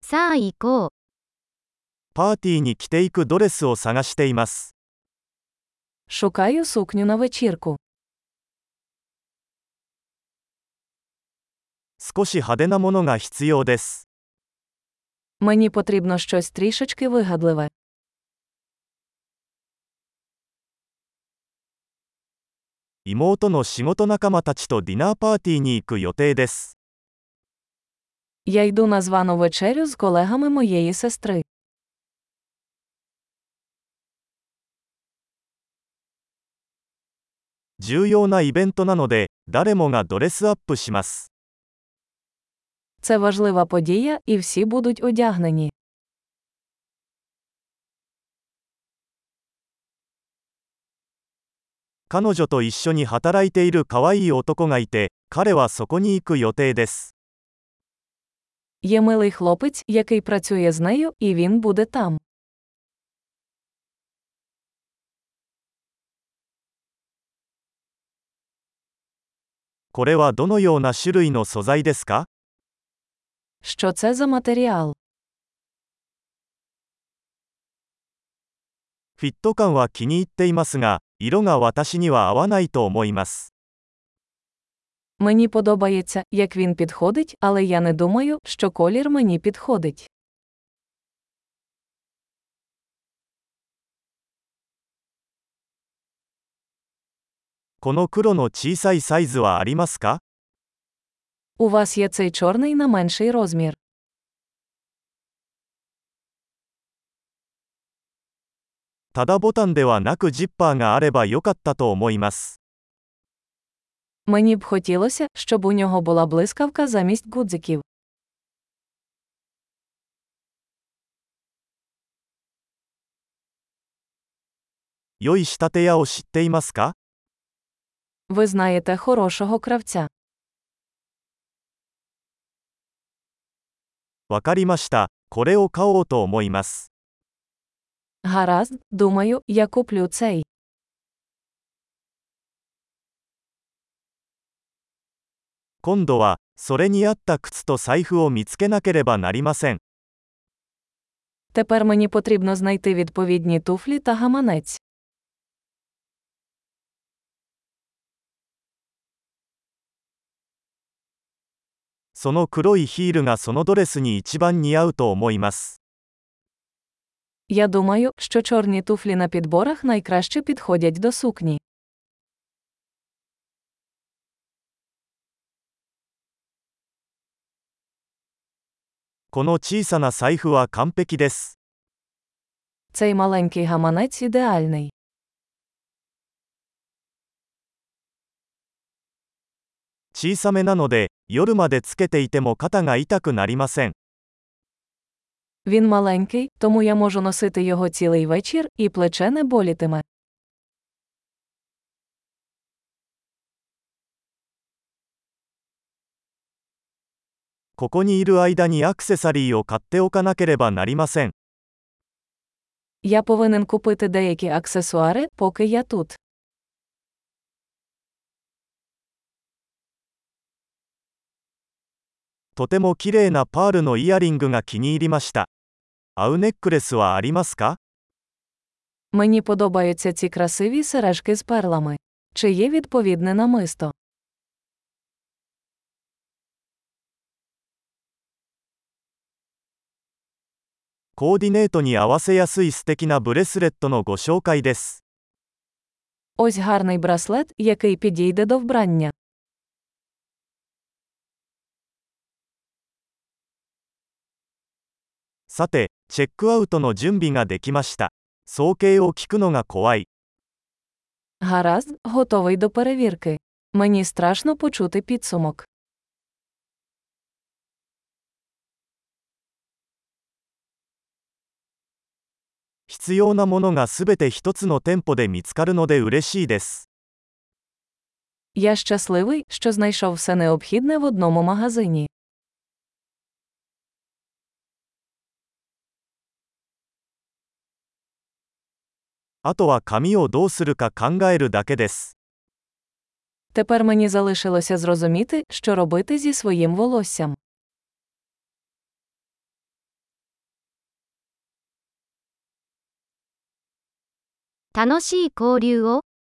さあ行こう。 パーティーに着ていくドレスを探しています。 Шукаю сукню на вечірку. 少し派手なものが必要です。 Мені потрібно щось трішечки вигадливе. 妹の仕事仲間たちとディナーパーティーに行く予定です。 Я йду на звану вечерю з колегами моєї сестри. 重要なイベントなので、誰もがドレスアップします。 Це важлива подія, і всі будуть одягнені. 彼女と一緒に働いている可愛い男がいて、彼はそこに行く予定です。 Є милий хлопець, який працює з нею, і він буде там. これはどのような種類の素材ですか？ Що це за матеріал? フィット感は気に入っていますが、色が私には合わないと思います。 Мені подобається, як він підходить, але я не думаю, що колір мені підходить. この黒の小さいサイズはありますか？ У вас є цей чорний на менший розмір. ただボタンではなくジッパーがあればよかったと思います。 Мені б хотілося, щоб у нього була блискавка замість гудзиків. 良い仕立て屋を知っていますか？ Ви знаєте хорошого кравця. わかりました。これを買おうと思います。 Гаразд, думаю, я куплю цей. 今度は、それに合った靴と財布を見つけなければなりません。 Тепер мені потрібно знайти відповідні туфлі та гаманець. その黒いヒールがそのドレスに一番似合うと思います。 Я думаю, що чорні туфлі на підборах найкраще підходять до сукні. この小さな財布は完璧です。 Цей маленький гаманець ідеальний. 小さめなので、夜までつけていても肩が痛くなりません。 Він маленький, тому я можу носити його цілий вечір, і плече не болітиме. ここにいる間にアクセサリーを買っておかなければなりません。 Я повинен купити деякі аксесуари, поки я тут. とても綺麗なパールのイヤリングが気に入りました。合うネックレスはありますか？ Мені подобаються ці красиві сережки з перлами. Чи є відповідне намисто? コーディネートに合わせやすい素敵なブレスレットのご紹介です。 Ось гарний браслет, який підійде до вбрання. さて、チェックアウトの準備ができました。総計を聞くのが怖い。 Гаразд, готовий до перевірки. Мені страшно почути підсумок. 必要なものがすべて一つの店舗で見つかるので嬉しいです。 Я щасливий, що знайшов все необхідне в одному магазині. あとは髪をどうするか考えるだけです。 Тепер мені залишилося зрозуміти, що робити зі своїм волоссям. 楽しい交流を。